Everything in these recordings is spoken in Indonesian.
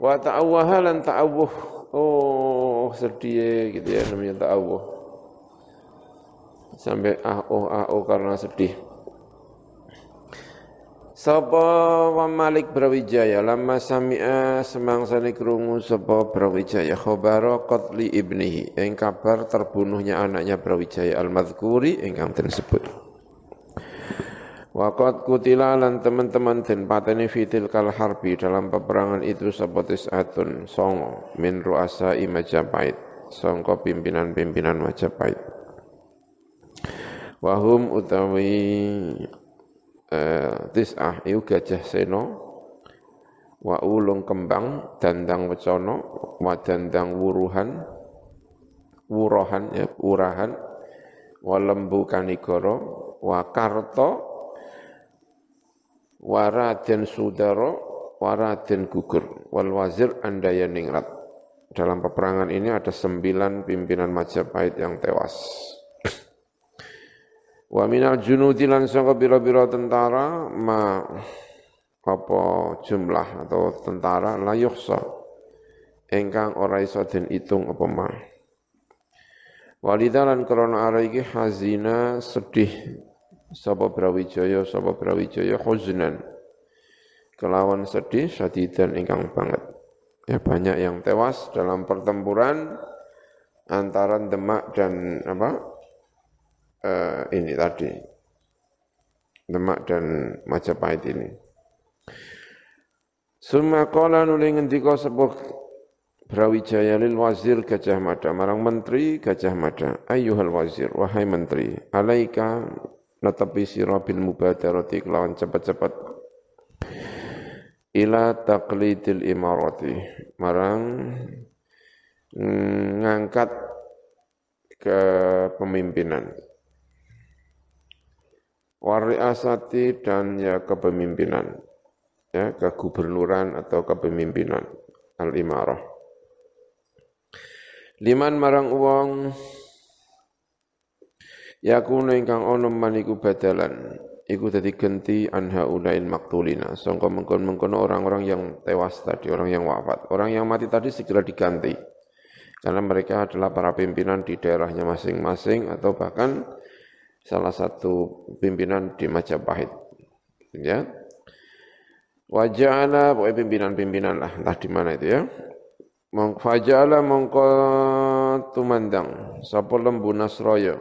Wa ta'awwaha lan ta'awuh. Oh, sedih gitu ya namanya ta'awuh. Sampai karena sedih. Sapa wa Malik Brawijaya lama sami'a semangsane krungu sapa Brawijaya khabara qatli ibnihi ing kabar terbunuhnya anaknya Brawijaya al-madhkuri ingkang den sebut. Waqat kutila lan teman-teman den pateni fitil kal harbi dalam peperangan itu sapa tis'atun songo min ru'asa Majapahit sangka pimpinan-pimpinan Majapahit. Wahum utawi tis'ah iku Gajah Sena wa ulung kembang dandang wecana wa dandang wuruhan ya urahan wa lembu kanigara wa karta wa raden sudara wa raden gugur wal wazir andaya ningrat. Dalam peperangan ini ada 9 pimpinan Majapahit yang tewas. Wa minal junudi lan sangka bira-bira tentara apa jumlah atau tentara la yuhsa ingkang ora iso den itung apa ma. Walidalan krana ara iki hazina sedih sapa Brawijaya huznan kelawan sedih sadidan ingkang banget. Ya banyak yang tewas dalam pertempuran antara Demak dan ini tadi Demak dan Majapahit ini. Summa qala nuli ngendika sapa Brawijaya lil wazir Gajah Mada marang menteri Gajah Mada ayyuhal wazir wahai menteri alaika natapi sira bil mubadarati kelawan cepat-cepat ila taqlidil imarati marang ngangkat kepemimpinan wariasati dan ya kepemimpinan ya kegubernuran atau kepemimpinan al-imarah liman marang wong yakuna ingkang ana maniku badalan iku dadi genti anha ulail maktulina sangka mengkon-mengkon orang-orang yang tewas tadi orang yang wafat orang yang mati tadi segera diganti karena mereka adalah para pimpinan di daerahnya masing-masing atau bahkan salah satu pimpinan di Majapahit. Ya. Waja'ala, pokoknya pimpinan-pimpinan lah, entah di mana itu ya. Faja'ala mongko tumandang, sapa lembu Nasraya.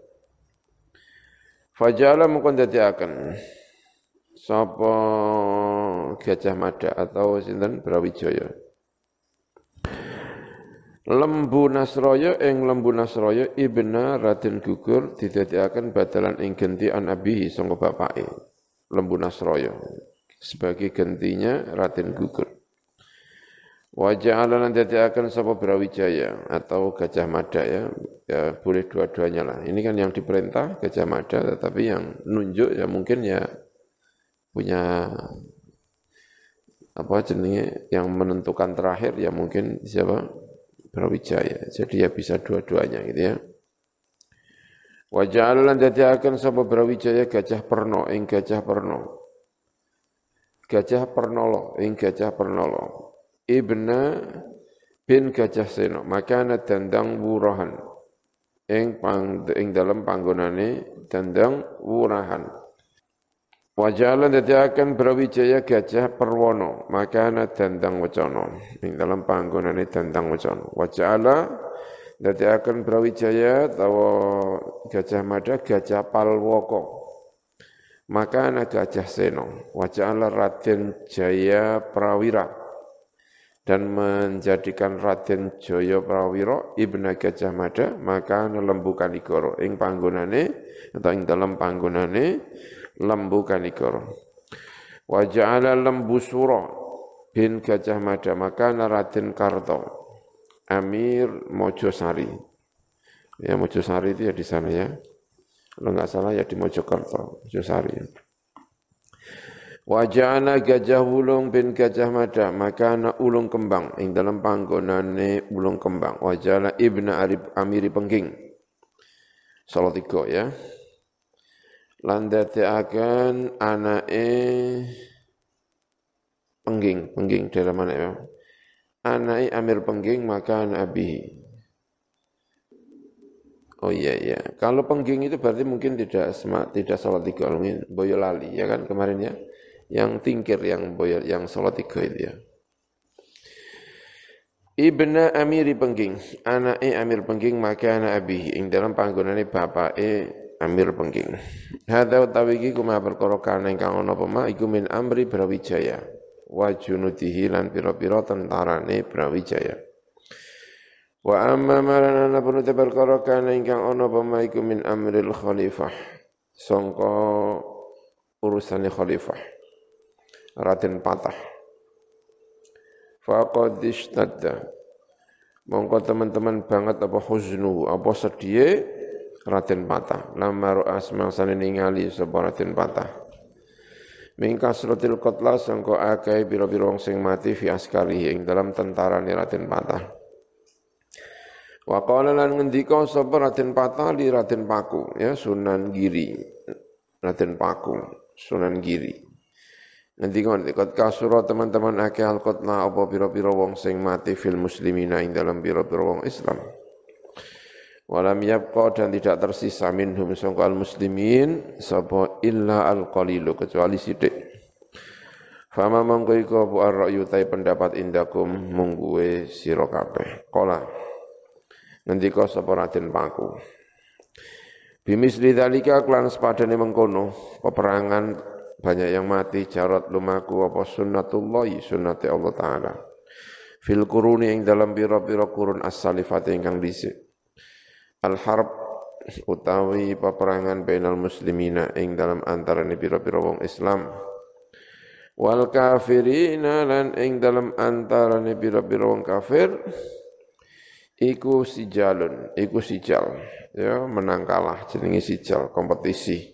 Faja'ala mongko ndadekaken sapa Gajah Mada atau sinten Brawijaya. Lembu Nasraya ibna Raden Gugur didadekaken badalan ing genti an abihi sangka bapake Lembu Nasraya sebagai gentinya Raden Gugur. Wa ja'ala lan dadekaken sapa Brawijaya atau Gajah Mada ya boleh dua-duanya lah. Ini kan yang diperintah Gajah Mada tetapi yang nunjuk ya mungkin ya punya yang menentukan terakhir ya mungkin siapa? Brawijaya. Jadi ya bisa dua-duanya gitu ya. Wa ja'ala lan dadiaken sapa Brawijaya Gajah Perno ing Gajah Perno. Gajah Pernolo ing Gajah Pernolo. Ibna bin Gajah Sena makana dandang wurahan ing dalam panggonane dandang wurahan. Wajalan dadiakan Brawijaya Gajah Perwono makana dandang wacana ing dalam panggonane dandang wacana. Wajala dadiakan Brawijaya tawa Gajah Mada Gajah Palwoko makana Gajah Seno. Wajala Raden Jaya Prawira dan menjadikan Raden Jaya Prawira ibna Gajah Mada makana Lembu Kanigara ing panggonane atau ing dalam panggonane Lembu Kanigara. Wa ja'ala Lembu Sura bin Gajah Mada makana Raden Karta Amir Mojosari. Ya Mojosari itu ya di sana ya. Kalau enggak salah ya di Mojokerto, Mojosari. Wa ja'ala Gajah Wulung bin Gajah Mada makana Ulung Kembang ing dalam panggonane Ulung Kembang. Wa ja'ala Ibna Amiri Pengging. Salatiga ya. Lan dadekaken anake pengging daerah mana ya? anai amir pengging maka nabi. Oh iya. Kalau pengging itu berarti mungkin tidak salat 3 mungkin Boyolali ya kan kemarin ya. Yang tingkir yang salat 3 itu ya. Ibna amiri pengging, anake amir pengging maka ana abi ing dalam panggonane bapake amir pengging. Hadza utawi iki kuma perkara kana ingkang ana apa iku min amri Brawijaya. Wa junudihi lan pira-pira tentarane Brawijaya. Wa amma marana pun te perkara kana ingkang ana apa iku min amril khalifah. Sangka urusane khalifah. Raden Patah. Faqad ishtadda. Mongko teman-teman banget apa huznu, apa sedih Raden Patah. Lamar asmangsane ningali sapa Raden Patah. Mingkas rotil qatla sangko akeh pira-pira wong sing mati fi askari ing dalam tentarane Raden Patah. Wa qala lan ngendika sapa Raden Patah li Raden Paku ya Sunan Giri. Raden Paku, Sunan Giri. Nanti kan dekat kasura teman-teman akeh al-qatla apa pira-pira wong sing mati fil muslimina ing dalam pira-pira wong Islam. Walam yabqa dan tidak tersisa minhum sangka al-muslimin sapa illa al-qalilu kecuali sithik. Fama mangko iku apa ar-ra'yu ta pendapat indakum mungguwe sira kabeh. Qala ngendika sapa Raden Paku. Bimisli dzalika klan sepadane mengkono peperangan banyak yang mati jarat lumaku apa sunnatullahi sunnati Allah Ta'ala fil kuruni yang dalam pira-pira kurun as-salifati ingkang dhisik al-harb utawi peperangan bainal muslimina ing dalam antarane pira-pira wong Islam wal kafirina lan ing dalam antarane pira-pira wong kafir iku sijal ya menang kalah jenenge sijal kompetisi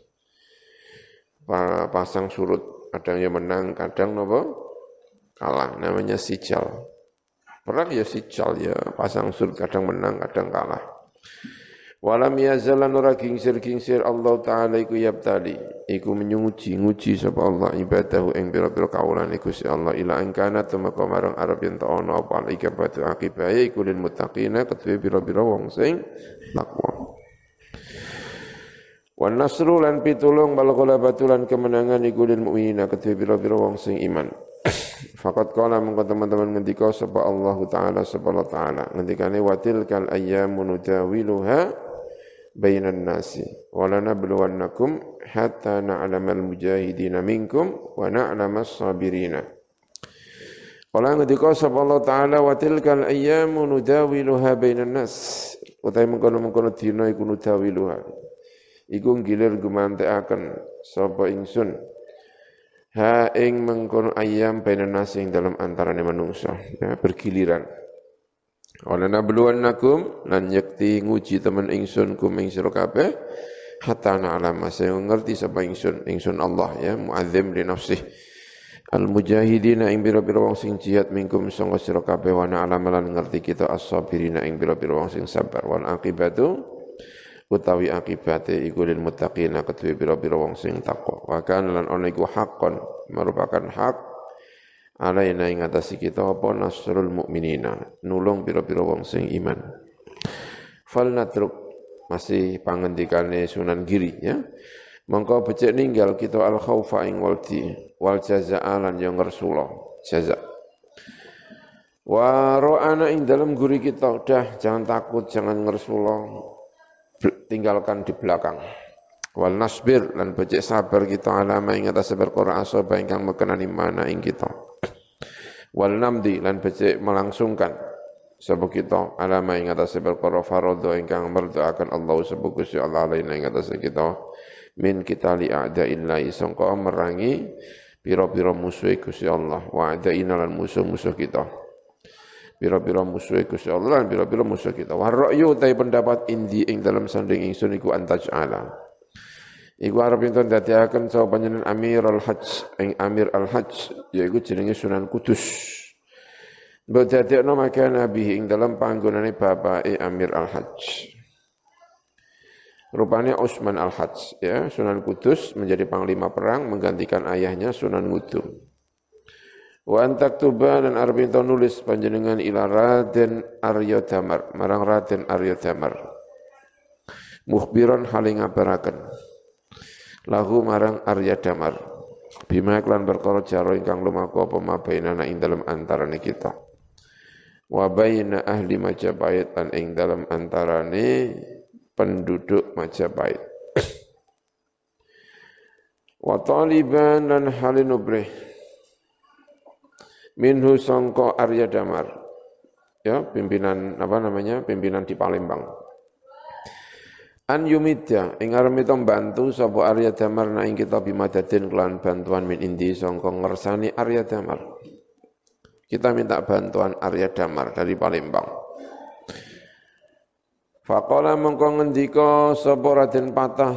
pasang surut, kadang yang menang, kadang apa? Kalah, namanya sijal. Perang ya sijal ya, pasang surut, kadang menang, kadang kalah. Walam yazalan ora gingsir-gingsir Allah Ta'ala iku yabtali, iku nguji sapa Allah ibadahu ing pira-pira kaulan iku si Allah ila angkana tumeka marang arep yen ta ana apa ikabatu akibahe iku lil muttaqina ketuwe pira-pira wong sing takwa. Wan nasru lan pitulung bal ghalabatu lan kemenangan iku lil mukminina kedue pira-pira wong sing iman. Faqat qala mengko teman-teman ngendika sapa Allah Ta'ala sapa Allah Ta'ala ngendikane watil kal ayyamu nudawiluha bainan nasi wa lanabluwannakum hatta na'lamal mujahidina minkum wa na'lamas sabirina. Qala ngendika sapa Allah Ta'ala watil kal ayyamu nudawiluha bainan nas utahe mengkono-mengkono dina iku nudawiluha iku gilir gumantekaken sapa ingsun ha ing mengkono ayam bainan nas ing dalam antarane manungsa ya bergiliran wala nabluwannakum lan yakti nguji temen ingsun kum ing sira kabeh hatta na'lama saya ngerti sapa ingsun Allah ya muadzim li nafsih al mujahidina ing pira-pira wong sing jihad mingkum sanga sira kabeh wa na'lama lan ngerti kita as-sabirina ing pira-pira wong sing sabar wal aqibatu utawi akibate iku lil muttaqina ketuwe pira-pira wong sing takwa wa kana lan ana iku haqqan merupakan hak alaina ing atase kita apa nasrul mukminina nulung pira-pira wong sing iman fal natruk masih pangendikane Sunan Giri ya mongko becik ninggal kita al khaufa ing waldi wal jazaa lan yang rasulullah jaza wa ra'ana ing dalam guri kita udah jangan takut jangan ngersulullah tinggalkan di belakang. Wal nasbir lan becik sabar kita alama ing atas perkara asaba ingkang mekenani mana ing kita. Wal namdi lan becik melangsungkan sapa kita alama ing atas perkara faradha ingkang merdaaken Allah sapa Gusti Allah alaina ing atas kita min kita li a'da'illahi sangka merangi pira-pira musuh Gusti Allah wa a'da'ina lan musuh-musuh kita. Pira-pira musuh Gusti Allah lan pira-pira musuh kita. Wa ra'yu ta pendapat indi ing dalam sanding ingsun iku antaj'ala. Iku arep enten dadiaken sapa panjenengan Amir al-Hajj ing Amir al-Hajj yaiku jenenge Sunan Kudus. Mbok dadekno maka nabi ing dalam panggonane bapake Amir al-Hajj. Rupanya Utsman al-Hajj ya, Sunan Kudus menjadi panglima perang menggantikan ayahnya Sunan Ngudung. Wa antaktuba dan arep ento nulis panjenengan ila Raden Arya Damar, marang Raden Arya Damar. Mukhbiran hale ngabaraken lahu marang Arya Damar. Bima klan perkara jaro ingkang lumaku apa mabainana ing dalem antarane kita. Wa baina ahli Majapahit lan ing dalem antarane penduduk Majapahit. Wa taliban lan halin ubrih minhu sangka Arya Damar, ya pimpinan pimpinan di Palembang. An yumidya ing arep bantu sapa Arya Damar na ing kita bimadadin kelan bantuan min indi sangka ngersani Arya Damar. Kita minta bantuan Arya Damar dari Palembang. Faqala mengko ngendika sapa Raden Patah.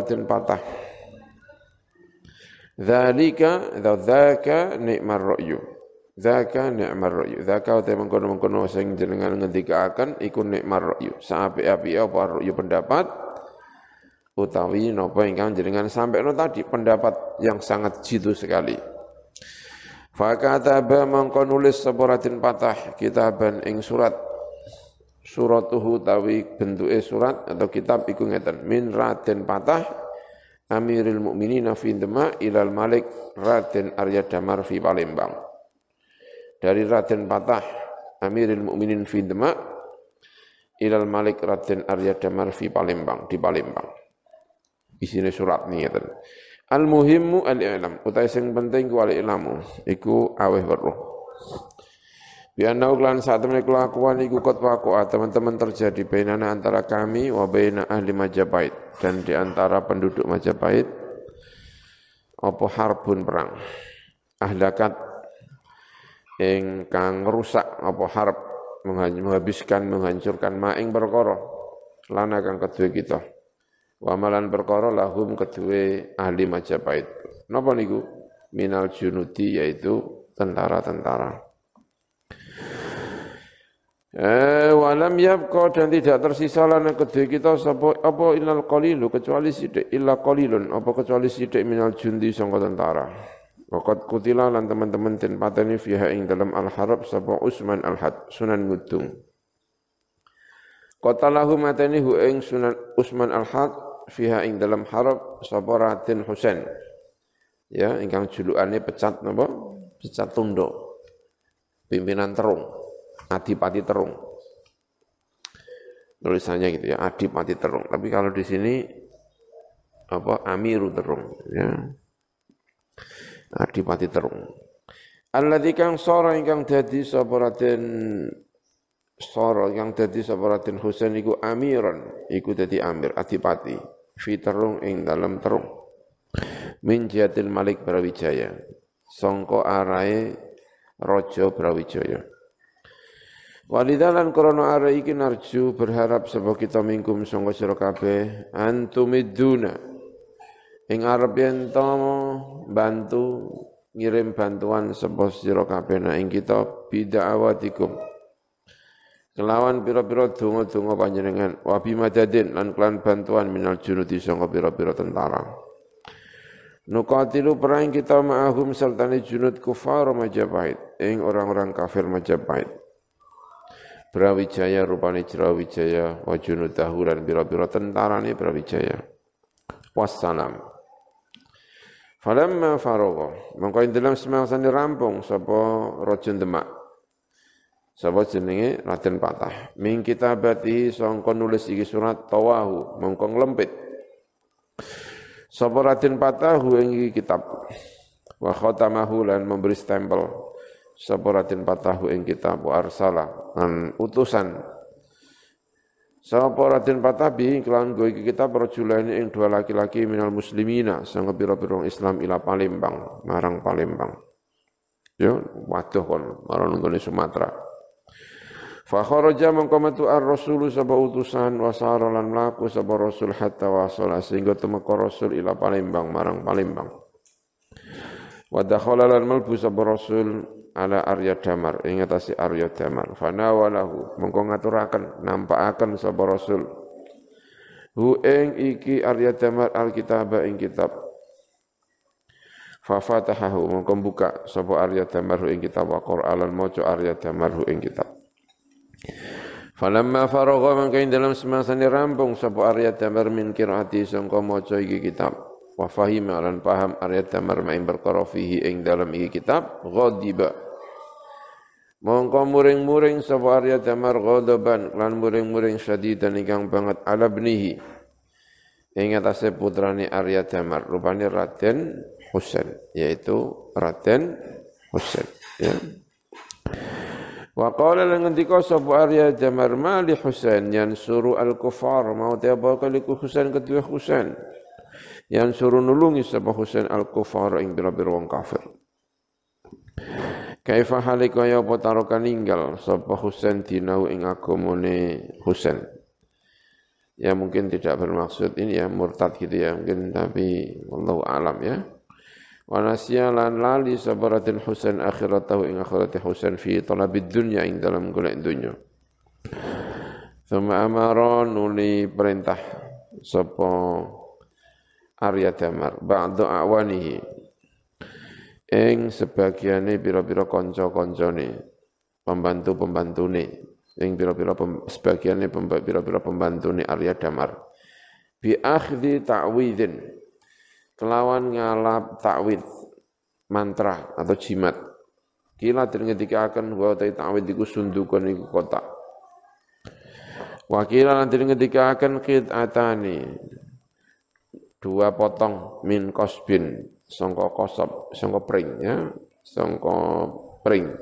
Dzaka nikmar ra'yu. Dzaka ni'mar ra'yu. Dzaka te mengkono-mengkono sing jenengan ngendikaaken iku nikmar ra'yu. Saapik-apik apa ra'yu pendapat utawi napa ingkang jenengan sampaikan tadi, pendapat yang sangat jitu sekali. Fakataba mengko nulis sapa Raden Patah kitaban ing suratuhu tawi bentuke surat atau kitab iku ngeten, min Raden Patah Amirul Mukminin fi Demak ilal Malik Raden Arya Damar fi Palembang. Dari Raden Patah Amirul Mukminin fi Demak ilal Malik Raden Arya Damar fi Palembang, di Palembang. Isine surat ngeten. Al muhimmu al-i'lam, utai sing penting ku al-i'lamu, iku aweh weruh. Biana uklan saat temene kelakuan iku kot waqa, teman-teman terjadi bainana antara kami wa baina ahli Majapahit, dan di antara penduduk Majapahit apa harbun perang. Ahlakat ingkang rusak apa harb, menghancurkan maing perkara lana kang kedue kita. Wamalan perkara lahum kedue ahli Majapahit. Napa niku? Minal junudi, yaitu tentara-tentara. Walam yabqa, dan tidak tersisa lana kedue kita sapa apa ilal qalilu, kecuali sithik, illa qalilun apa kecuali sithik minal jundi sangka tentara. Waqad kutila lan teman-teman den pateni fiha ing dalam al-harb sapa Usman al-Had, Sunan Ngudung. Qatalahu mateni hu ing Sunan Usman al-Had fiha ing dalam harab sapa Raden Husain. Ya, ingkang julukane pecat napa? Pecat tunduk. Pimpinan Terung, Adipati Terung. Tulisannya gitu ya, Adipati Terung. Tapi kalau di sini apa? Amiru Terung, ya. Adipati Terung. Alladzi kang sora ingkang dadi sapa Raden Soro yang dadi sapa Raden Husain iku amiran, iku dadi amir adipati fi Terung ing dalam Terung. Min jihatil Malik Brawijaya, sangka arahe Raja Brawijaya. Walidalan krana arahe iki narju berharap sapa kita mingkum sangka sira kabeh antumiduna ing arep yen to bantu ngirim bantuan sapa sira kabeh ing kita bid'awatikum kelawan pira-pira donga-donga panjenengan wa bimadadin lan kelan bantuan minal junudi sangka pira-pira tentara. Nuqatilu perang kita ma'ahum sertane junud kufar Majapahit ing orang-orang kafir Majapahit. Brawijaya rupane Brawijaya wa junudahu lan pira-pira tentarane Brawijaya. Wassalam. Falamma faragha mongko ing dalam semangsane rampung sapa Raja Demak. Sapa jenenge Raden Patah. Min kitabati sangka nulis iki surat tawahu mongko nglempit. Sapa Raden Patah ing iki kitab. Wa khatamahu lan memberi stempel. Sapa Raden Patah ing kitab wa arsala lan utusan. Sapa Raden Patah bi kelawan go iki kitab rajulaine ing dua laki-laki minal muslimina sanga pira-pira Islam ila Palembang, marang Palembang. Yo waduh kon marang nggone Sumatera. Fa kharaja mangko metu ar-rasul sapa utusan wa sara lan mlaku sapa rasul hatta wasala sehingga temeka rasul ila Palembang marang Palembang. Wa dakhala lan malbu sapa rasul ala Arya Damar ing atase Arya Damar. Fa nawalahu mangko ngaturaken nampakaken sapa rasul hu ing iki Arya Damar alkitab ing kitab. fa fatahahu mongko buka sapa Arya Damar ing kitab wa Qur'an maca Arya Damar ing kitab. Falamma faragha mangka ing dalam semasane rampung sapa Arya Damar min qiraati sangka maca iki kitab wa fahima lan paham Arya Damar main perkara fihi ing dalam iki kitab ghadiba mongko muring-muring sapa Arya Damar ghadaban lan muring-muring syadidan ingkang banget ala bnihi ing atase putrane Arya Damar rupane Raden Husain yaitu Raden Husain ya. Wa qala lan ngendika sapa Arya Damar mali Husain yansuru al-kufar mau te apa kali Husain kedua Husain yansuru nulungi sapa Husain al-kufar ing bira-bira wong kafir. Kaifa halika ya apa taroka ninggal sapa Husain dinau ing agamane Husain. Ya mungkin tidak bermaksud ini ya murtad gitu ya mungkin tapi wallahu alam ya. Wa nasiya lan lali sabaratin Husain akhiratahu ing akhirati Husain fi talabid dunya ing dalam golek dunya. Thumma amara nuli perintah sapa Arya Damar ba'da awanihi ing sebagiane pira-pira kanca-kancane pembantu-pembantune ing pira-pira sebagiane pira-pira pembantune Arya Damar bi akhdhi ta'widin kelawan ngalap takwid mantra atau jimat kila den ngendikaken wa ta'wid iku sundukan iku kotak wa kila lan den ngendikaken qit'atani dua potong min qasbin sangka kosop sangka pring ya sangka pring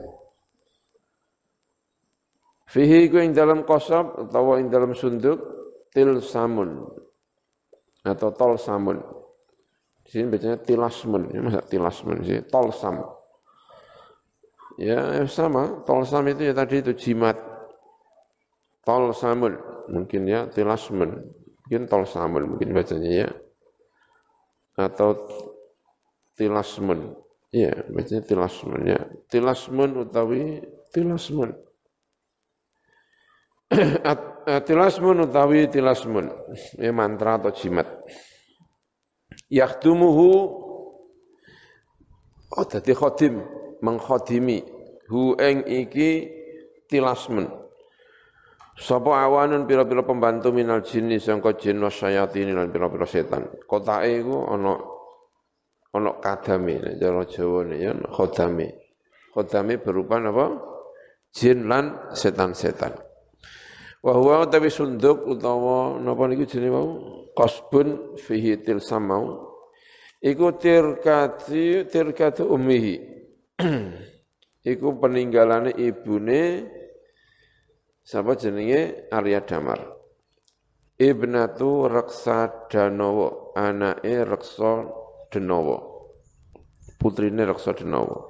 fihi ku ing dalam kosop utawa ing dalam sunduk til samun atau tol samun. Di sini bacanya tilasmun, ya masa tilasmun sih, tolsam. Ya sama, tolsam itu ya tadi itu jimat. Tolsamun, mungkin ya tilasmun, mungkin tolsamun mungkin bacanya ya. Atau tilasmun, ya bacanya tilasmun ya. Tilasmun utawi tilasmun. Tilasmun utawi tilasmun, ya mantra atau jimat. Yakhtumuhu dadi khadim mengkhadimi hu ing iki tilasmen sapa awanun pira-pira pembantu minal jinni sangka jin wasyayatin lan pira-pira setan kotake iku ana kadame cara Jawane ya khodame berupa apa jin lan setan-setan wa huwa tawi sunduk utawa napa niku jenenge mau qasbun fihi tilsamau iku tirkatu ummihi iku peninggalane ibune sapa jenenge Arya Damar ibnatu Raksa Danawa anake Raksa Danawa putrine Raksa Danawa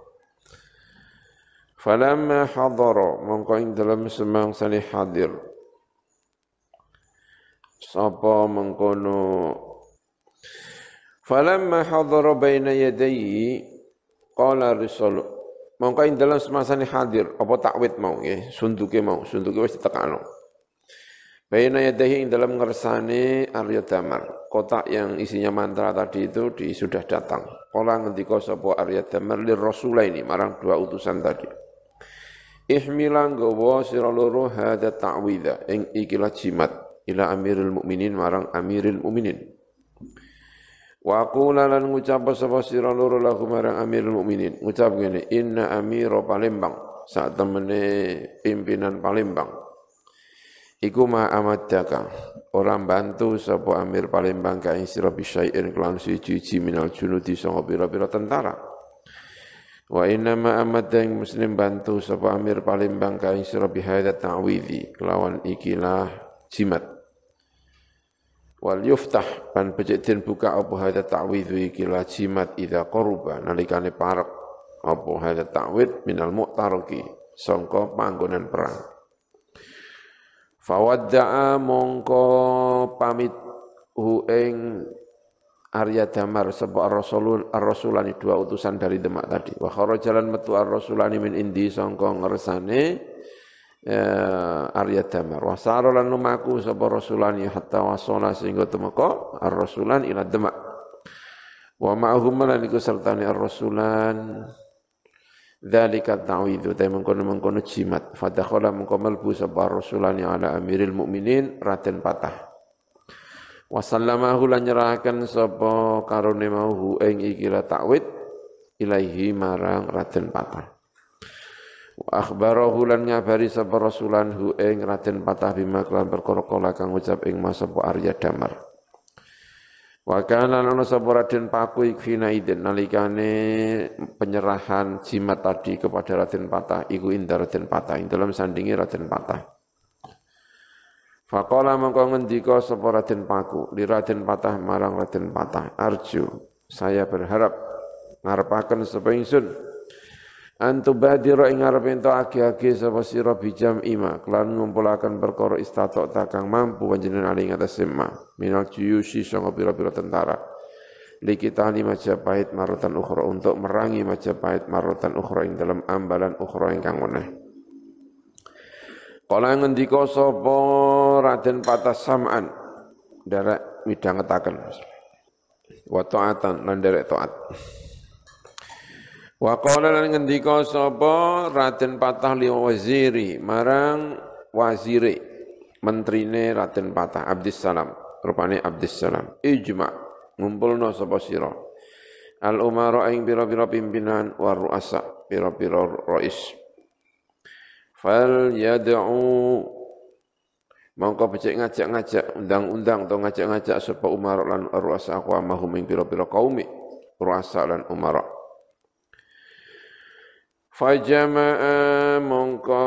falamma hadara mongko ing dalem semangsane hadir sapa mengkono falamma hadara baina yadayhi qala risul mongko ing dalam semasane hadir apa takwid mau nggih sunduke wis ditekano baina yadayhi ing dalam ngersane Arya Damar kotak yang isinya mantra tadi itu sudah datang kala ngendika sapa Arya Damar lir rasulaini marang dua utusan tadi ihmilan gawa sira loro hadza ta'widha ing ikilah jimat ila amirul mukminin marang amirul mukminin wa qula lan ngucap sapa sira loro lahu marang amirul mukminin ngucap ngene inna amira Palembang sak temene pimpinan Palembang iku ma amadaka orang bantu sapa amir Palembang ka ing sira bisain kelan siji minal junudi sanga pira-pira tentara wa inna ma amadda ing muslim bantu sapa amir Palembang ka ing sira bihadza ta'widhi kelawan ikilah jimat wal yuftah pan becik den buka apa hadza ta'widhu ikilah jimat idza qaruba nalikane parek apa hadza ta'wid minal mu'tariki sangka panggonan perang fawadda'a mongko pamit hu ing Arya Damar sapa ar-rasulani dua utusan dari Demak tadi wa kharajalan metu ar-rasulani min indi sangka ngersane Arya Damar wa sara lan lumaku sapa rasulani hatta wasala sehingga temeka ar-rasulan ila Demak Wa ma'ahum lan iku sertane ar-rasulan dzalika ta'widhu ta mengkono jimat fadakhala mengko mlebu sapa rasulani ala amiril mukminin Raden Patah wa sallamahu lan nyerahaken sapa karone mau ing iki la ta'wid ilaihi marang Raden Patah wa akhbarahu lan ngabari sapa rasulan hu ing Raden Patah bima kelan perkara kala kang ucap ing mas sapa Arya Damar wa kana ana sapa Raden Paku ikfina idin nalikane penyerahan jimat tadi kepada Raden Patah iku inda Raden Patah ing dalam sandingi Raden Patah faqala mongko ngendika sapa Raden Paku li Raden Patah marang Raden Patah arju saya berharap ngarepaken sapa ingsun antubadira ing arep ento agi-agi sapa sira bijam ima kelan ngumpulaken perkara istatok takang mampu panjenengan ali ngatas sema minal juyusi sanga pira-pira tentara likita li Majapahit marotan ukhra untuk merangi Majapahit marotan ukhra ing dalam ambalan ukhra ingkang meneh kala ngendika sapa Raden Patah sam'an derek midhangetaken wa ta'atan lan derek taat wa qala lan ngendika sapa Raden Patah li waziri marang wazire menterine Raden Patah Abdissalam rupane Abdissalam ijma ngumpulna sapa sira al umara ing pira-pira pimpinan wa ru'asa pira-pira rais fal yad'u mongko becik ngajak-ngajak undang-undang atau ngajak-ngajak sapa umara lan ru'asa aqwamahum ing pira-pira kaum ru'asa lan umara fajama'a mongko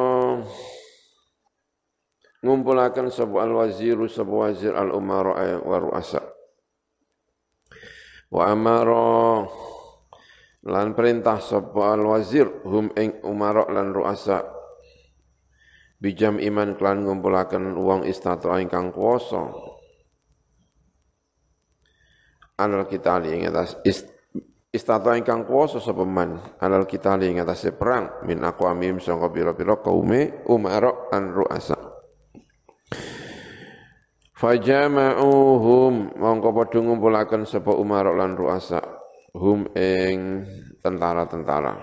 ngumpulaken sapa al-waziru sapa wazir al-umara wa ru'asa wa amara lan perintah sapa al-wazir hum ing umara lan ru'asa bijam iman klan ngumpulaken wong istata ingkang kuwasa alal kitali ing atas istata ingkang kuwasa sapa man alal kitali ing atase perang min aqwamim sangka pira-pira kaume umara an ru'asa fajama'uhum mongko padha ngumpulaken sapa umara lan ru'asa hum ing tentara-tentara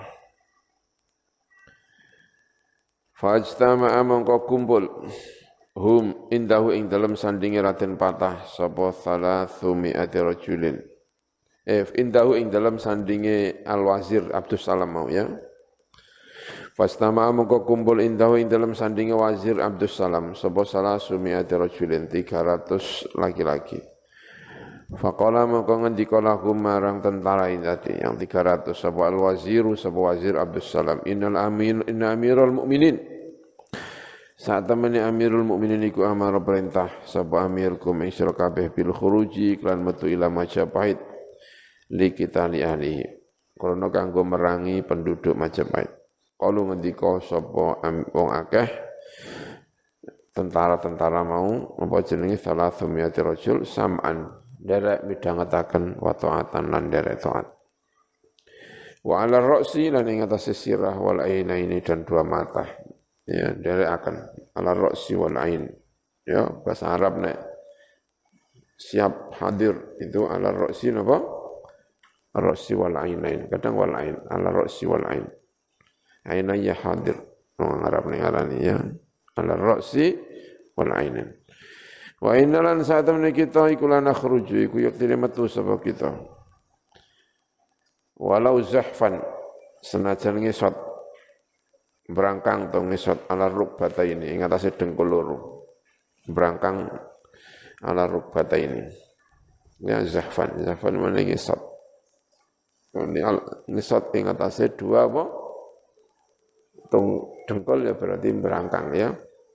fajtama'a mongko kumpul hum indahu ing dalam sandingi Raden Patah sapa 300 rajulin indahu ing dalam sandinge Al-Wazir Abdus Salam mau ya. Fastama mongko kumpul indahu ing dalam sandinge Wazir Abdus Salam sapa 300 rajulin 300 laki-laki. Faqala mongko ngendika lahum marang tentara tadi yang 300 sapa Al-Waziru sapa Wazir Abdus Salam inna amirul mukminin saat temani Amirul Mukminin iku amara perintah sapa amirkum ing sira kabeh bil khuruji klan metu ila Majapahit li kita li ahli krana kanggo merangi penduduk Majapahit kalu ngendika sapa wong akeh tentara-tentara mau apa jenenge 300 rajul sam'an derek midhangetaken wa ta'atan lan derek taat wa 'ala ra'si lan ing atase sirah wal ainaini dan dua mata ya derek akan 'ala ra'si wal ain ya bahasa Arab nek siap hadir itu 'ala ra'si napa ar-ra'si wal ainain kadang wal ain 'ala ra'si wal ain ainaya hadir orang Arab ning arani ya 'ala ra'si wal ainain wa innalan sa'atan kita iku lana khruju iku yaktine metu sapa kita walau zahfan senajan ngesot berangkang to ngesot ala rukbata ini ing atase dengkul loro berangkang ala rukbata ini ya zahfan mana ngesot ini ngesot ing atase dua apa tung dengkul ya berarti berangkang ya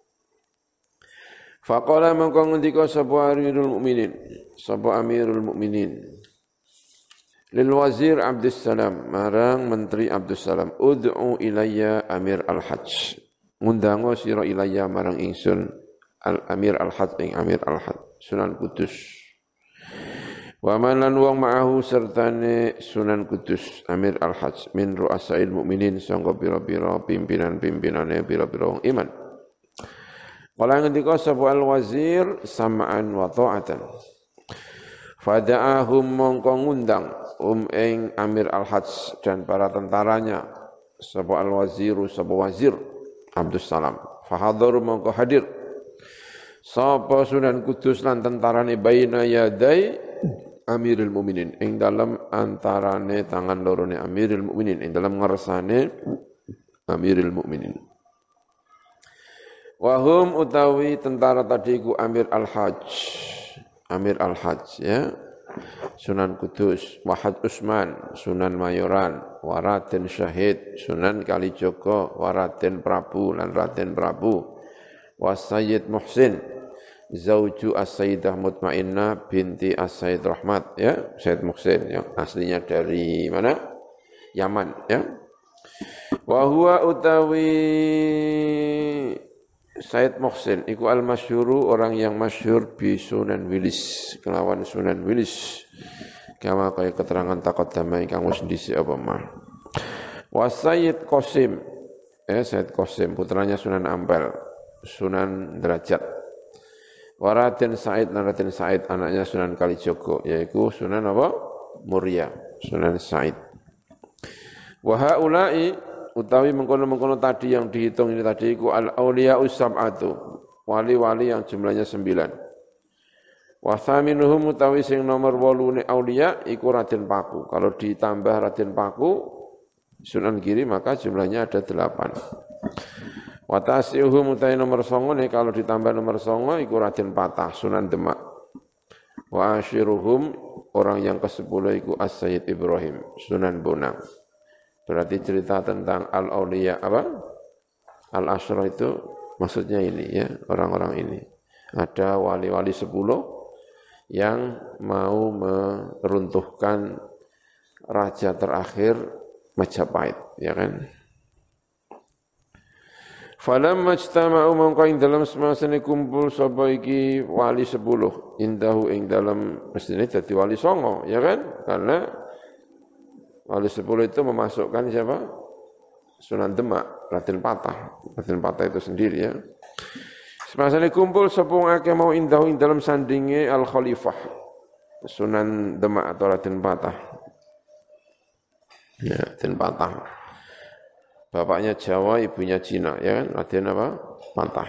faqala mangko ngendika sapa Amirul Mukminin lil Wazir Abdus Salam marang Menteri Abdus Salam ud'u ilayya Amir al-Hajj ngundango sira ilayya marang ingsun Amir al-Hajj ing Amir al-Hajj Sunan Kudus wa man lan wong ma'ahu sertane Sunan Kudus Amir al-Hajj min ru'asail mukminin sangga pira-pira pimpinan-pimpinane pira-pira wong iman kala ngendika sapa al-wazir sam'an wa ta'atan Fada'ahum mongko ngundang ing Amir al-Hajj dan para tentaranya sapa al-waziru sapa wazir Abdus Salam. Fahadharu mongko hadir sapa Sunan Kudus lan tentarane baina yadai Amirul Mukminin ing dalam antarane tangan lorone Amirul Mukminin ing dalam ngarsane Amirul Mukminin. Wahum utawi tentara tadi ku Amir al-Hajj. Amir al-Hajj ya. Sunan Kudus, Wahad Usman, Sunan Mayoran, Waraden Syahid, Sunan Kalijogo, Waraden Prabu lan Raden Prabu. Wasayyid Muhsin, Zauju As-Sayyidah Mutmainnah binti As-Sayyid Rahmat ya, Sayyid Muhsin yang aslinya dari mana? Yaman ya. Wa huwa utawi Said Muhsin iku al-masyhuru orang yang masyhur bi Sunan Wilis kelawan Sunan Wilis kama kaya keterangan taqaddama ingkang wis dhisik apa mah. Wa Sayyid Qasim Sayyid Qasim putranya Sunan Ampel Sunan Derajat. Wa Raden Said lan Raden Said anaknya Sunan Kalijogo yaiku Sunan apa? Muria Sunan Said. Wa haula'i utawi mengkono-mengkono tadi yang dihitung ini tadi iku al-auliya'us sab'atu, wali-wali yang jumlahnya 9. Wa thaminuhum utawi sing nomor 8 auliya iku Raden Paku. Kalau ditambah Raden Paku Sunan Giri maka jumlahnya ada 8. Wa tasi'uhum utawi nomor 9 kalau ditambah nomor 9 iku Raden Patah Sunan Demak. Wa asyiruhum orang yang ke-10 iku As-Sayyid Ibrahim Sunan Bonang. Berarti cerita tentang al-auliya apa? Al-Asyra itu maksudnya ini ya, orang-orang ini. Ada wali-wali 10 yang mau meruntuhkan raja terakhir Majapahit, ya kan? Falamma ijtama'u mongko ing dalam semasane kumpul sapa iki wali 10 indahu ing dalam mestine dadi wali 9, ya kan? Karena wali 10 itu memasukkan siapa? Sunan Demak, Raden Patah. Raden Patah itu sendiri ya. Semasa ini kumpul sepung akeh mau indahu ing dalam sandinge Al-Khalifah. Sunan Demak atau Raden Patah. Ya, Raden Patah. Bapaknya Jawa, ibunya Cina, ya kan? Raden apa? Patah.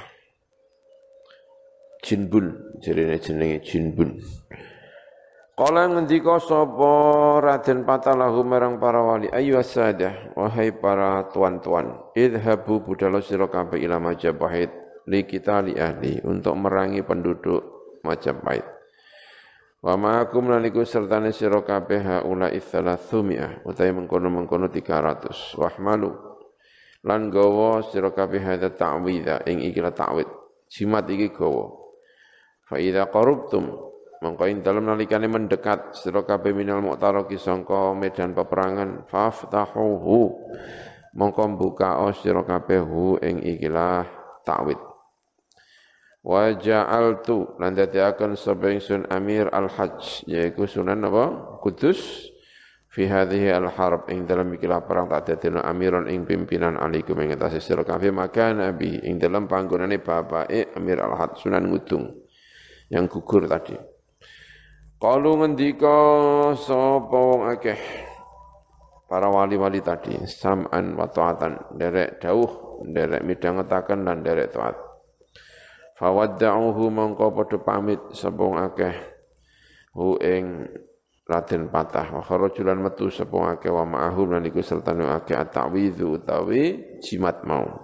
Jinbun, jenenge Jinbun. Kala ngendika sapa Raden Patah lahu marang para wali ayu asadah wahai para tuan-tuan idhabu budalo sira kabeh ila Majapahit li kita li ahli untuk merangi penduduk Majapahit wa ma'akum lan iku sertane sira kabeh haula itsalatsumiyah utawi mengkono-mengkono 300 wahmalu lan gawa sira kabeh hadza ta'widha ing ikilah ta'wid jimat iki gawa fa idza qarubtum mongko ing dalem nalikane mendekat sira kabeh minal mu'taraki sangka medan peperangan faftahuhu mongko buka sira kabeh hu ing ikilah ta'wid wa ja'altu lan dadiaken sapa ingsun Amir al-Hajj yaiku Sunan apa Kudus fi hadhihi al-harb ing dalem ikilah perang tak dadekno amiron ing pimpinan alaikum ing atase sira kabeh maka nabi ing dalem panggonane bapake Amir al-Hajj Sunan Ngudung yang gugur tadi. Qalu ngendika sapa wong akeh para wali-wali tadi sam'an wa ta'atan derek dawuh derek midhangetaken lan derek taat fawadda'uhu mongko padha pamit sapa wong akeh hu ing Raden Patah wa kharajulan metu sapa wong akeh wa ma'ahum lan iku sertane akeh at-ta'widhu utawi jimat mau.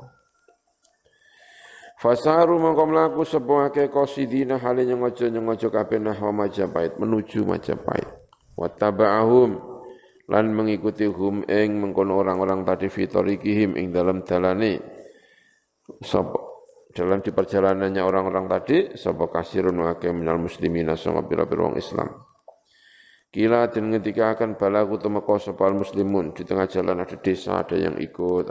Fasaru mongko mlaku sapa akeh qasidina hale nyojo kabeh nahwa Majapahit menuju Majapahit. Wattaba'ahum lan mengikuti hum ing mengkono orang-orang tadi fitorikihim ing dalam dalane sapa dalam di perjalanannya orang-orang tadi sapa kasirun akeh minal muslimina sanga pira-pira wong Islam. Kila den ngendika akan balagu tumeka sapa muslimun di tengah jalan ada desa ada yang ikut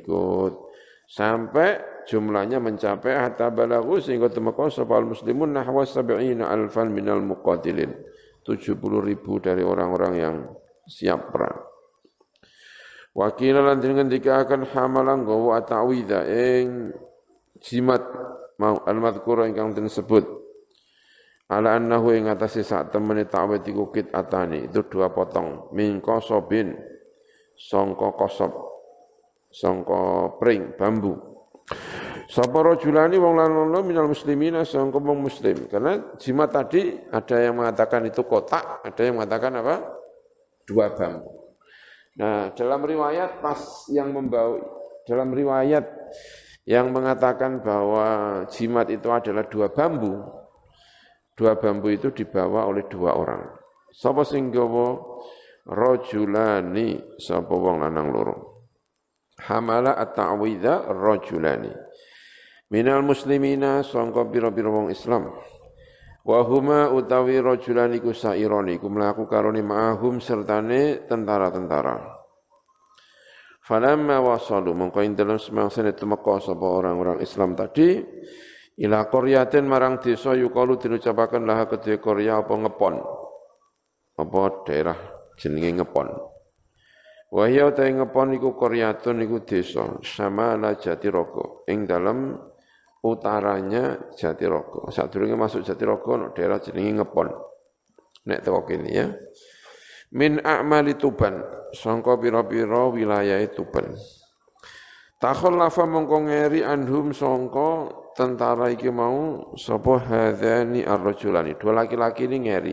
sampai jumlahnya mencapai hatta balagu sehingga temeka sapa muslimun nahwa 70,000 minal muqatilin 70.000 dari orang-orang yang siap perang. Wakil lan ngendika akan hamalan gawa ta'widha ing jimat mau al-madhkura ingkang disebut ala annahu ing atase sak temene ta'wid iku atani itu 2 potong min qasobin sangka qasab sangka pring bambu sapa rajulani wong lanang minal muslimina sangka wong muslim karena jimat tadi ada yang mengatakan itu kotak ada yang mengatakan apa 2 bambu. Nah, dalam riwayat dalam riwayat yang mengatakan bahwa jimat itu adalah 2 bambu. 2 bambu itu dibawa oleh 2 orang. Sapa sing gawa rajulani sapa wong lanang loro. Hamala at-ta'widza rajulani. Minal muslimina sangka pira-pira wong Islam. Wa huma utawi rajulani ku saironi ku mlaku karone ma'ahum sertane tentara-tentara. Falamma wasalu mongko ing dalem semangsane tumeka sapa orang-orang Islam tadi ila qaryatin marang desa yukalu diucapaken laha kedhe qarya apa ngepon. Apa daerah jenenge ngepon. Wa hiya ta ngepon iku qaryatun iku desa samala Jatirogo ing dalem utaranya Jatirogo. Sadurunge masuk Jatirogo ana daerah jenenge ngepon. Nek teko kene ya. Min a'mali Tuban sangka pira-pira wilayah Tuban. Takhallafa mongko ngeri anhum sangka tentara iki mau sapa hadzani ar-rajulani 2 laki-laki ini ngeri.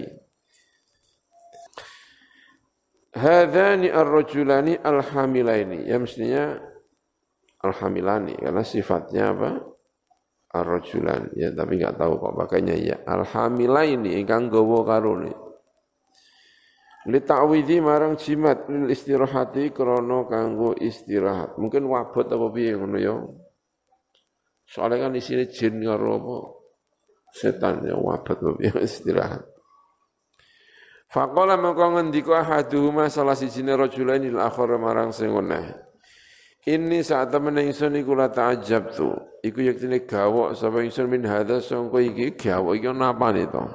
Hadzani ar-rajulani al-hamilaini ya mestinya al-hamilani karena sifatnya apa? Ar-rajulan ya tapi enggak tahu kok makanya ya al-hamilaini ingkang gawa karone. Li ta'widhi marang jimat lil istirahati krana kanggo istirahat. Mungkin wabot apa piye ngono ya. Soalnya kan isine jin karo apa setan ya wabot apa piye istirahat. Faqala mangko ngendika ahaduhuma salah sijine rajulain lil akhar marang sing weneh. Ini saat temen ingsun iku la ta'ajabtu. Iku yektine gawok sapa ingsun min hadza sangko iki gawok iki napane to.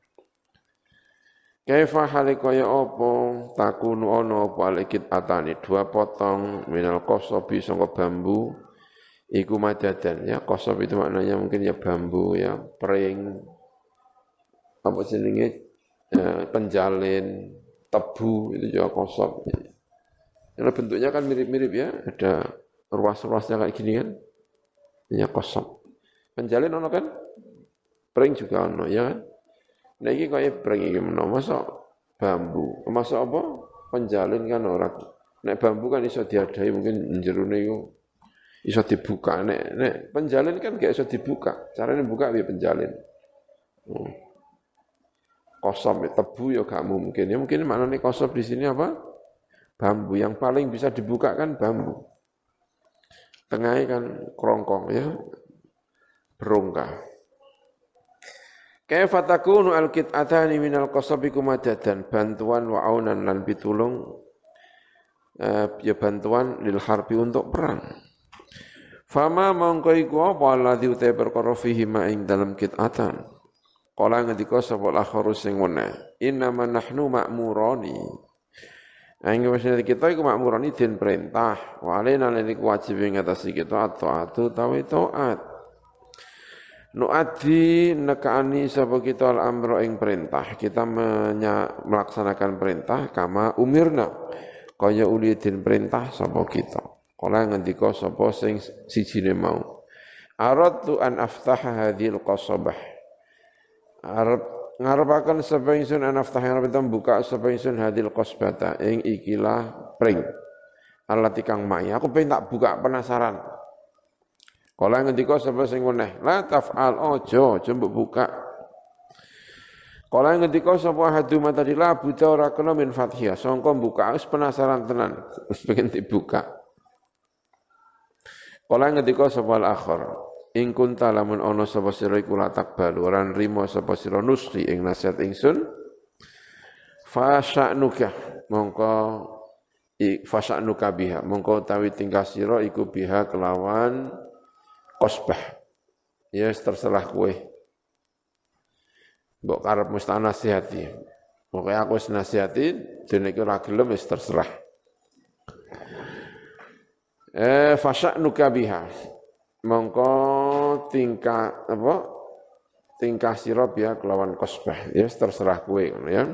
Kaifa halikaya apa takunu ana apa alikit atani 2 potong minal qasabi sangka bambu iku madadan ya qasab itu maknanya mungkin ya bambu ya pring apa jenenge penjalin tebu itu juga qasab. Karena bentuknya kan mirip-mirip ya ada ruas-ruasnya kayak gini kan ya qasab. Penjalin ono kan pring juga ono ya kan. Nah ini kaya pring iki menawa masa bambu, masa apa? Penjalin kan ora. Nek bambu kan iso diadai mungkin jerone iku iso dibuka. Nek penjalin kan gak iso dibuka. Carane buka piye penjalin? Qasab tebu ya gak mungkin. Ya mungkin maknane qasab di sini apa? Bambu yang paling bisa dibuka kan bambu. Tengahnya kan kerongkong ya. Berongkah. Kaifa takunu al-qit'atani minal qasabi kumadadan bantuan wa aunan lan pitulung ya bantuan lil harbi untuk perang. Fama mongko iku apa alladzi uta perkara fihi ma ing dalam qit'atan. Kala ngendika sapa al-akharu sing weneh, innama nahnu ma'murani. Angge wis kita iku ma'murani den perintah, wa alaina lan iku wajib ing atas kita taat utawi taat. Nu'addi nekani sapa kita al-amra ing perintah. Kita melaksanakan perintah kama umirna. Kaya uli den perintah sapa kita. Kala ngendika sapa sing sijine mau. Aradtu an aftaha hadhil qasabah. Ngarepaken sapa ingsun an aftaha buka sapa ingsun hadhil qasbata ing ikilah pring. Alati kang mai. Aku pengen tak buka penasaran. Kala ngendika sapa sing weneh, la taf'al aja mbok buka. Kala ngendika sapa haduma tadi la buta ora kena min fathiyah, sangka buka wis penasaran tenan, wis pengen dibuka. Kala ngendika sapa al-akhir, ing kunta lamun ana sapa sira iku la takbal, ora nrimo sapa sira nuski ing nasihat ingsun. Fa sya'nuka mongko biha, mongko utawi tingkah sira iku biha kelawan qasbah. Ya terserah kowe. Mbok karep mesti nasihati. Pokoke aku wis nasihati, dene iki ora gelem wis terserah. Fasya'nuka biha. Mongko tingkah apa? tingkah sira biya kelawan qasbah ya terserah kowe ngono ya.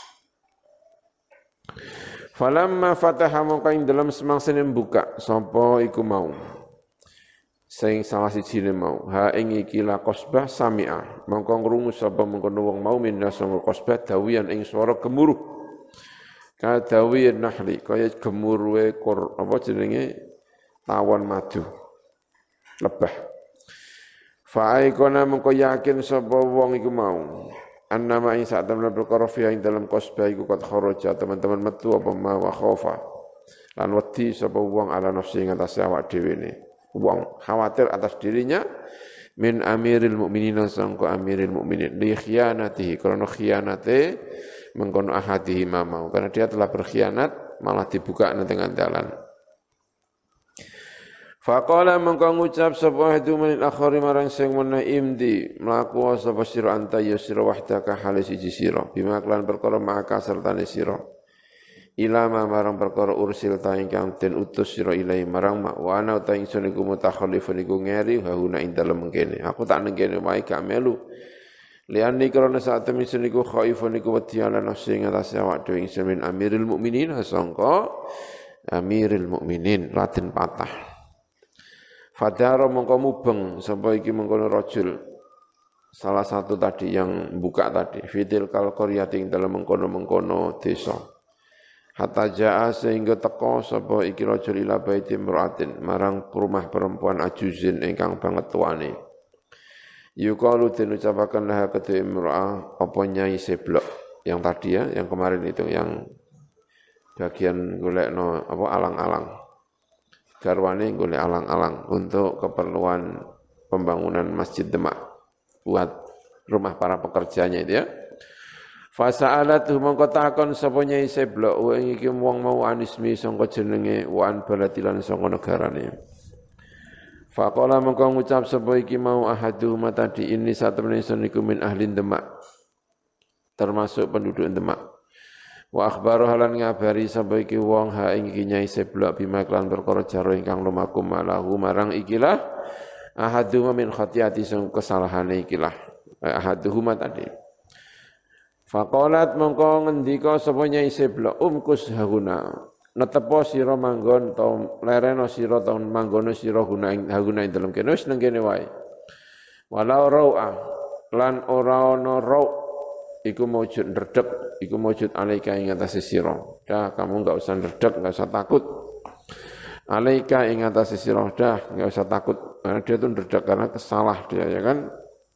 Falamma fataha mongko ing dalem semangsane buka sapa iku mau sing salah sijine mau ha ing iki la qasbah sami'a mongko ngrungu sapa mengkono wong mau minna sanga qasbah dawiyan ing swara gemuruh ka dawiyan nahli kaya gemuruhe apa jenenge tawon madu lebah fa aikona mongko yakin sapa wong iku mau annama ing sak temen perkara fi ing dalam qasbah iku qad kharaja teman-teman metu apa ma wa khofa lan wedi sapa wong ala nafsi ing atas awak dhewe ne wong khawatir atas dirinya min amiril mukminin sangko amiril mukminin li khianatihi karena khianate mengkono ahadihi mau karena dia telah berkhianat malah dibuka nang tengah dalan. Faqala mengko ngucap sapa hadu min akhari marang sing mena imdi mlaku sapa sira anta ya sira wahdaka halis siji sira bima klan perkara maka sertane sira ilama marang perkara ursil ta ingkang den utus sira ilahi marang mak wa ana ta ingsun iku mutakhallifun iku ngeri hauna ing dalem mengkene aku tak ning kene wae gak melu liani karena saat temen ingsun iku khaifun iku wedi ala nafsi ing atase awak dhewe ingsun min amiril mukminin sangka amiril mukminin latin patah. Fadharo mongko mubeng sapa iki mengkono rajul salah satu tadi yang buka tadi fitil kal qaryati ing dalem mengkono-mengkono desa hatta jaa sehingga teka sapa iki rajul ila baiti imra'atin marang rumah perempuan ajuzin ingkang banget tuane yuqalu den ucapaken laha kedhe imra'ah apa nyai seblok yang tadi ya yang kemarin itu yang bagian golekno apa alang-alang garwane golek alang-alang untuk keperluan pembangunan Masjid Demak buat rumah para pekerjanya itu ya. Fasa'alatu mongko takon sapa nyai seblok wa iki wong mau anismi sangka jenenge wan baladilan sangka negarane. Faqala mongko ngucap sapa iki mau ahadu matadi ini satemene sun iku min ahli Demak termasuk penduduk Demak. Wa akhbaru halan ngabari sapa iki wong ha ing iki nyai seblok bima klan perkara jaro ingkang lumaku malahu marang ikilah ahaduma min khatiati sing kesalahane ikilah ahaduhuma tadi faqalat mongko ngendika sapa nyai seblok umkus haguna netepo sira manggon ta lereno sira ta manggono sira guna ing dalem kene wis nang kene wae walau rau'ah lan ora ana rau' iku maujud ndredeg iku maujud alaika ing atase sira dah kamu enggak usah ndredeg enggak usah takut alaika ing atase sira dah enggak usah takut karena dia itu ndredeg karena kesalah dia ya kan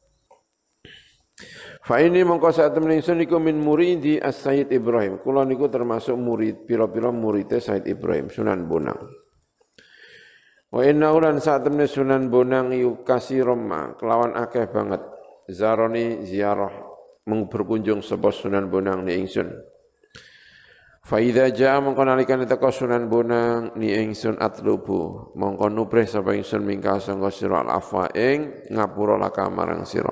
fa ini mongko sak temen ingsun iku min muridi as-Sayyid Ibrahim kula niku termasuk murid pira-pira murite Sayyid Ibrahim Sunan Bonang wa inna ulan sak temen Sunan Bonang iku kasiroma kelawan akeh banget zaroni ziarah berkunjung sapa Sunan Bonang ni ingsun. Fa idza jaa mongko nalikane teka Sunan Bonang ni ingsun atlubu mongko nuprih sapa ingsun mingka sangga sira al-afwa ing ngapura laka marang sira.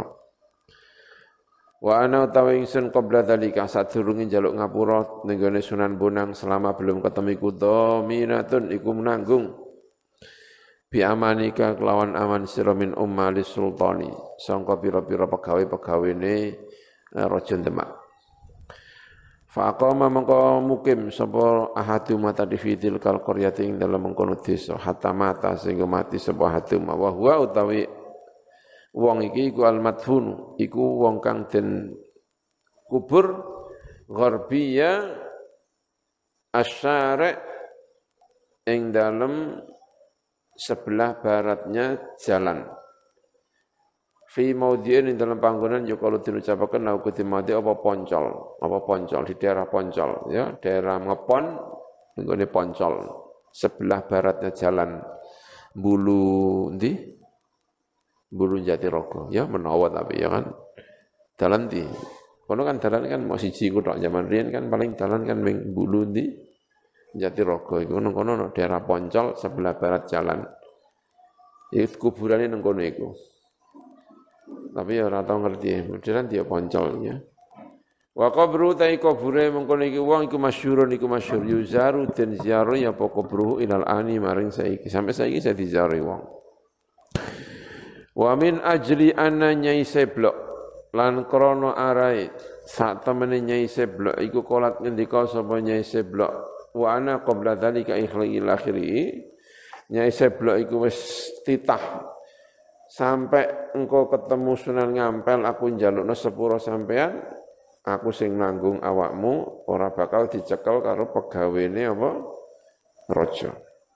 Wa ana utawi ingsun qabla dalika sadurunge njaluk ngapura ning gone Sunan Bonang selama belum ketemu iku dominatun iku menanggung bi amanika kelawan aman sira min ummalis sultani sangka pira-pira pegawe-pegawene Raja Demak. Faqama mongko mukim sapa ahadu mata di fitil kal qaryati ing dalem mengkono desa hatta mata sehingga mati sapa ahadu wa huwa utawi wong iki iku al madfun iku wong kang den kubur gharbiyya asyari ing dalem sebelah baratnya jalan fi maudhi'in ing dalam panggonan yo kalau diucapaken aku dimati apa poncol di daerah Poncol ya daerah Ngepon nggone Poncol sebelah baratnya jalan Bulu ndi Bulu Jatirogo ya menawa tapi ya kan dalan ndi kono kan dalan kan mau siji ku tok zaman riyen kan paling dalan kan ming Bulu ndi Jatirogo iku kono daerah Poncol sebelah barat jalan iku kuburane nang kono iku. Tapi ya ora tau ngerti, modern dia Poncol ya. Wa qabru ta kubure mengkono iki wong iku masyhurun iku masyhur yuzaru den ziarah ya apa kubruhu ilal ani maring saiki sampai saiki saya diziarahi wong. Wa min ajli anna nyai seblok lan krana arai sak temene Nyai Seblok iku kolat ngendika sapa Nyai Seblok wa ana qabla dzalika ikhlil akhiri Nyai Seblok iku wis titah sampai engkau ketemu Sunan Ngampel aku njalukna sepuro sampean aku sing nanggung awakmu ora bakal dicekel karo pegawene apa raja.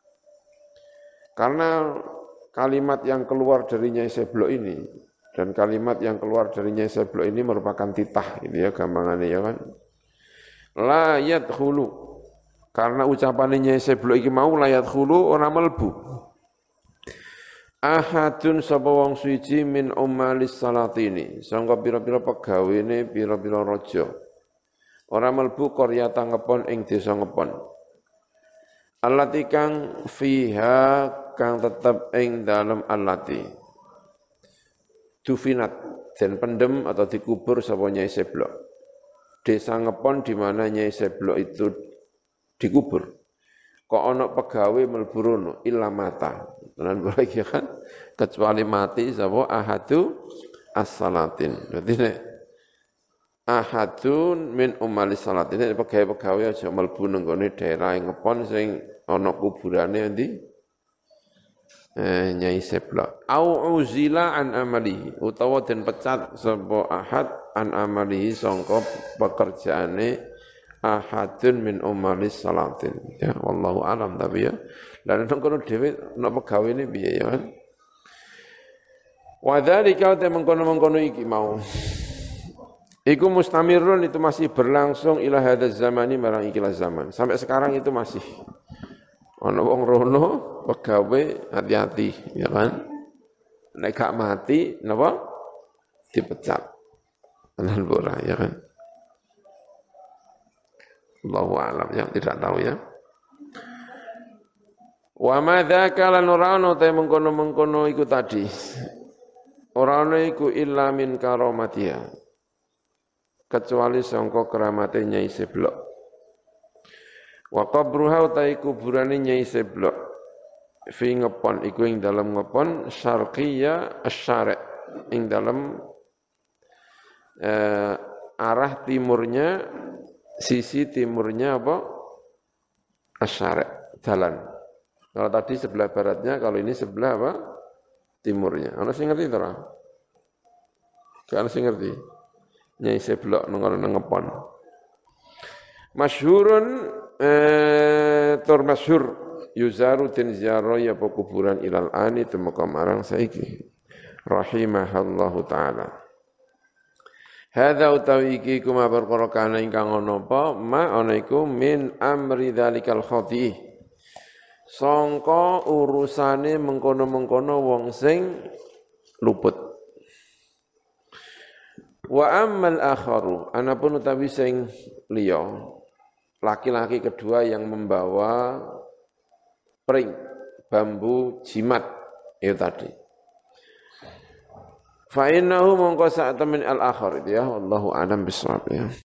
Karena kalimat yang keluar dari Nyai Seblok ini dan kalimat yang keluar dari Nyai Seblok ini merupakan titah gitu ya gampangannya ya kan. La yadkhulu karena ucapan Nyai Seblok iki mau la yadkhulu ora mlebu. Ahadun sapa wong suci min ummalis salatini sangka pira-pira pegawene pira-pira raja. Ora mlebu qaryata ngepon ing desa ngepon. Allati kang fiha kang tetep ing dalem allati dufinat dan pendem atau dikubur sapa Nyai Seblok. Desa ngepon di mana Nyai Seblok itu dikubur. Kok ana pegawe mlebu rono illa mata. Tenan iki kan kecuali mati sapa ahadu as-salatin. Dadi nek ahadun min ummalis salatin pegawe-pegawe aja mlebu nang gone daerah ngepon sing ana kuburane endi Nyai Seblok. Au uzila an amalihi utawa den pecat sapa ahad an amalihi sangka pekerjaane ahadun min ummalis salatin. Ya wallahu alam tapi ya. Lan nang kono dhewe nek pegawene piye ya kan. Wa dzalika ta mengkono-mengkono iki mau. Iku mustamirun itu masih berlangsung ila hadzal zamani marang ikilah zaman. Sampai sekarang itu masih ana wong rono pegawe hati-hati ya kan. Nek gak mati napa dipecat. Tenan ora ya kan. Allahu a'lam ya tidak tahu ya. Wa madzaka lan ora ana te mengkono-mengkono iku tadi. Ora ana iku illa min karamatiha. Kecuali sangka keramate Nyai Seblok. Wa qabruha utai kuburane Nyai Seblok. Fi ngepon iku ing dalam ngepon syarqiyya asy-syari' ing dalam arah timurnya sisi timurnya apa? Asy-syari' jalan. Kalau tadi sebelah baratnya, kalau ini sebelah apa? Timurnya. Ana sing ngerti to ora? Gak ana sing ngerti. Nyai Seblok nang ngepon. Masyhurun tur masyhur yuzaru den ziarah ya kuburan ilal ani temeka marang saiki. Rahimahallahu taala. Hadza utawi iki kuma perkara kana ingkang ana apa ma ana iku min amri dzalikal khati. Sangka urusane mengkono-mengkono wong sing luput. Wa ammal akharu anapun utawi sing liya laki-laki kedua yang membawa pring bambu jimat itu tadi. Fa innahu mongko sak temen al akhar itu ya wallahu a'lam bissawab ya.